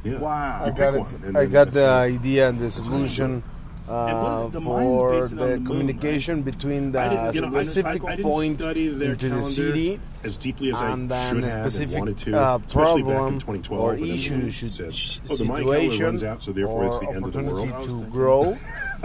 Yeah. Wow. You pick one, and I then got that's the it. idea and the solution And the mine's for based on the the moon, communication right? between I the didn't, you know, specific I didn't point study their into the calendar city as deeply as and I then should a have and specific wanted to, especially back in problem 2012 or when everyone issue said, "Oh, the Mayan calendar situation runs out, so therefore it's or the end of the world." opportunity to grow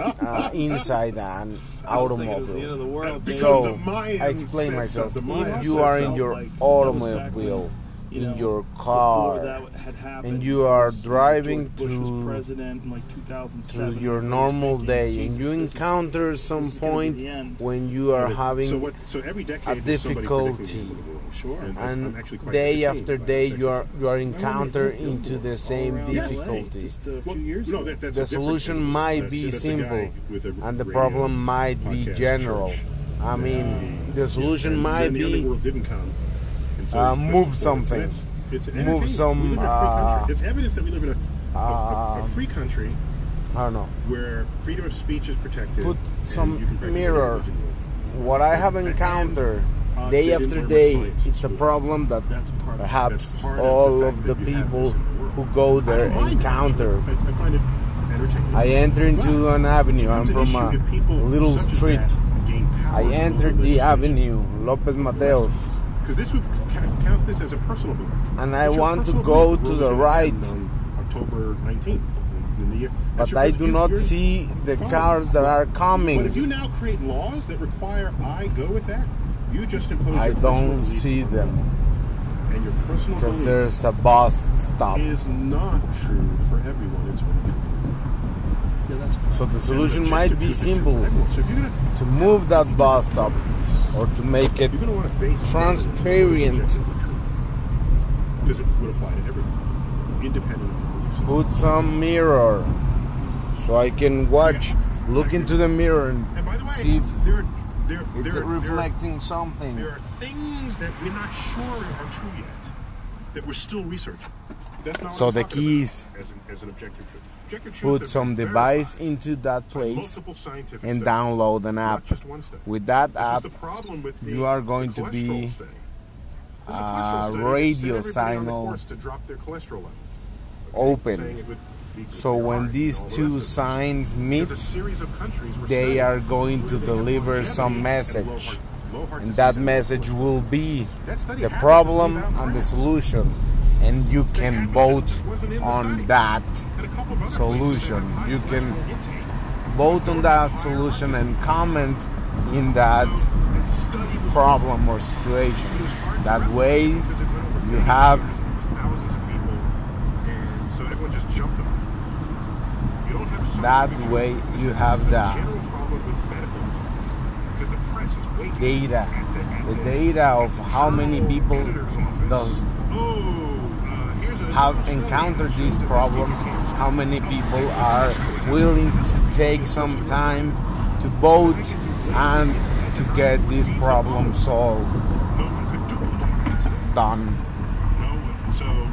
inside an I was thinking it was the end automobile. of the world. Because So the Mayans I explain said myself. so. The Mayans If you said are so. in your Like, that was back automobile, when, you in know, your before car, that had happened, and you are it was, driving George Bush was through president in like 2007. through your He was normal thinking, day, and Jesus, you this is- encounter some this is gonna be point the end. when you are having So every decade a there's somebody difficulty. predicting the end of the world. Sure. I'm and actually quite day entertained after by day this you are exercise. encounter into the All same around LA, difficulty. just a Well, few years no, ago. that's a The different solution thing. might That's be a guy simple, with a and the radio problem might be podcast general. church. I mean, the solution And might then the be underworld didn't come. And so move so something. It's Move entertaining. some, We live in a free country. It's evidence that we live in a free country I don't know. where freedom of speech is protected. Put and some you can practice mirror. your religion. What I have encountered day they didn't after learn day, science in it's a school. problem that That's part of perhaps That's part of all the of fact the that you have people this in the world. who go there I don't mind encounter. I find it entertaining. I enter into But an avenue. I'm it's an from issue a if people little such as street. that gain power I over entered the legislation. avenue, Lopez Mateos, Because this would count this as a personal belief. and I It's your want to personal go belief. to We're the gonna right. end on October 19th in the year. That's but your I personal- do not you're- see the fine. cars that are But coming. if you now create laws that require I go with that, you just impose I your personal don't belief see on them and your personal because belief there's a bus stop. is not true for everyone. It's only true. Yeah, that's So the And solution objective might truth be is true for simple: everyone. So if you're gonna to move that bus stop or to make it you're going to want to base transparent. Because it would apply to everyone, independent of the belief system. Put some mirror so I can watch, look into the mirror and And by the way, see if it's there reflecting something. are things that we're not sure are true yet, that we're still researching. That's not So what I'm the talking key about is as an objective truth. Objective truth Put has some been device verified into that by place multiple scientific and studies, download an not app. just one study. With that This app, is the problem with you are going to cholesterol be study. There's a cholesterol study that radio sent everybody on the signal course to drop their cholesterol levels. open. Saying it would be good So for your when heart these and all the two rest of it. signs meet, There's a series of countries where they studies are going where to they have deliver longevity some and message. low heart And disease that and message cholesterol. will be That study the happened problem in and the France. solution. And you That can happened, vote it just wasn't in the on study. that And a couple of other solution. places that have You high can cholesterol intake. vote on that solution and comment in that So, that study was problem or situation. it was hard to That replicate way because it went over you many have years and it was thousands of people, and so everyone just jumped on it. You don't have a that scientific way truth. you This have is the the general problem with medical results because the press is waiting data. at The data of how many people editor's office. does Here's a have study encountered that this shows that problem, breast cancer. how many people are willing to take some time to vote and to get this problem solved, No one could duplicate that study. done.